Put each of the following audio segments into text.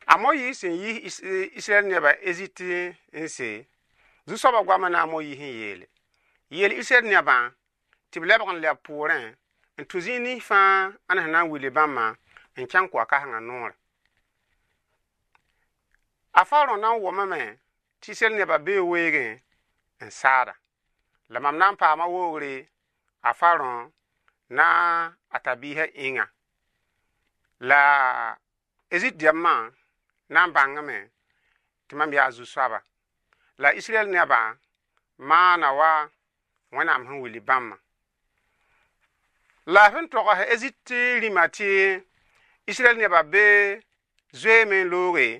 Amoyi sin yi Israel neba eziti nse. Zu-soaba goama na amoyi hin yele. Yele Israel neba tiblebg n leb pʋʋrẽ n tʋ zĩig nins fãa ana sẽn na n wili bãmba n kẽng koa-kãsengã noore. A Faro na n wʋmame tɩ Israel neba bee weegẽ n saada. La mam na n paama woogre a Faro na a tabiisã ĩnga. La ezit dɛmã na n bãngame tɩ mam yaa zu-soaba. La Israel neba maana wa Wẽnnaam sẽn wili bãmba. La sẽn togs ezit rĩma tɩ Israel neba bee zoeeme n looge.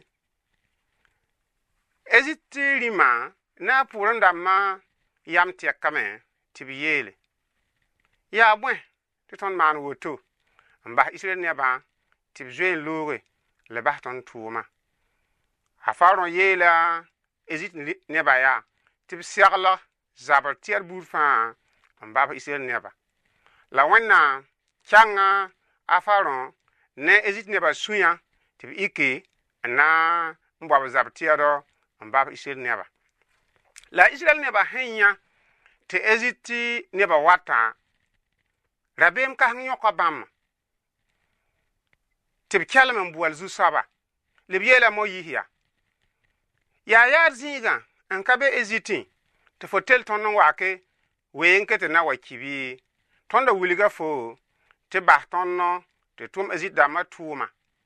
Ezit rĩma na n pʋʋrẽ dãmbã yam tɛkame tɩ b yeele. Yaa bõe tɩ tõnd maan woto n bas Israel nebã tɩ b zoe n looge la bas tõnd tʋʋma. A Faro yeela ezit neba yaa tɩ b segl zabr tɩɛr buud fãa n bab Israel neba. La Wẽnnaam kãnga a Faro ne ezit neba sũyã tɩ b ike n na n bab zab tɩɛdɔ n bab Israel neba. La Israel neba sẽn yã tɩ ezit neba watã rabeem kãseng yõka bãmba tɩ b kelm n bual zu-soaba. Le b yeela Moyiis yaa. Yaa yaad zĩigã n ka be ezitẽ tɩ fo tel tõnd n wake weenkẽ tɩ na wa kibi. Tõnda wilga fo tɩ bas tõnd tɩ tʋm ezit dãmbã tʋʋma.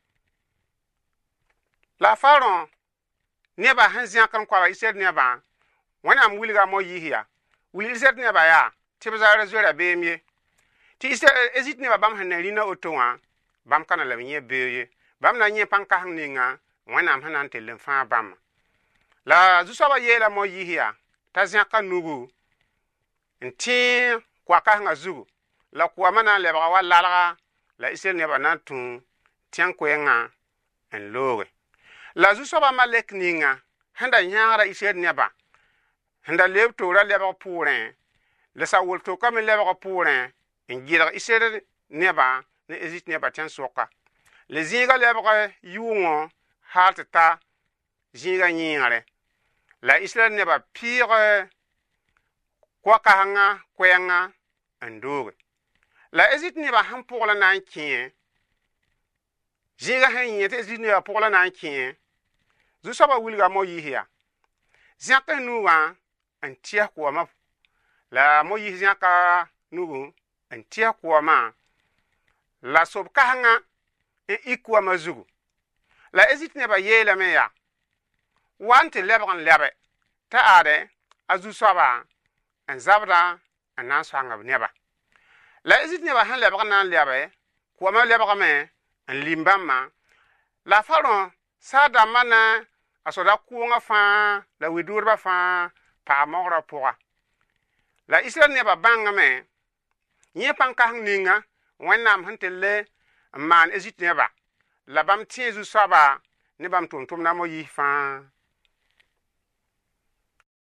La Faro neba sẽn zẽk n koaba Israel nebã Wẽnnaam wilga Moyiis yaa. Wil Israel neba yaa tɩ b zaara zoe rabeem ye. Tɩ ezit neba bãmb sẽn na rĩna woto wã bãmb ka na la b yẽ beo ye. Bãmb na yẽ pãn-kãseng ninga Wẽnnaam sẽn na n tell n fãa bãmba. La zu-soaba yeela Moyiis yaa t'a zẽka nugu n tẽ koa-kãsengã zugu. La koamã na n lebga wa lalga la Israel neba na n tũ tẽng koɛɛngã n looge. La zu-soaba malek ninga sẽn da yãagra Israel neba sẽn da leb toora lebg pʋʋrẽ la sa-wʋl tokame lebg pʋʋrẽ n gɩlg Israel neba ne ezit neba tẽn-soka. Le zĩiga lebg yʋʋngõ hal tɩ ta zĩiga yĩigre. La Israel neba pɩɩg koa-kãsengã koɛɛngã n dooge. La ezit neba sẽn pʋgla na n kẽ zĩiga sẽn yẽ tɩ ezit neba pʋgla na n kẽ zu-soaba wilga Moyiis yaa. Zẽk nugã n tɩɛs koamã. La Moyiis zẽka nugu n tɩɛs koamã la sob kãsengã n ik koamã zugu. La ezit neba yeelame yaa wa n tɩ lebg n lɛbɛ t'a aadɛ a zu-soaba n zabda n na n soang b neba. La ezit neba sẽn lebg na n lɛbɛ koamã lebgame n lim bãmbã. La Faro saa-dãmbã na a soda kʋʋngã fãa la we-dʋʋdbã fãa paam mogrã pʋga. La Israel neba bãngame yẽ pãn-kãseng ninga Wẽnnaam sẽn telle n maan ezit neba la bãmb tẽ zu-soaba ne bãmb tʋʋm-tʋmdã Moyiis fãa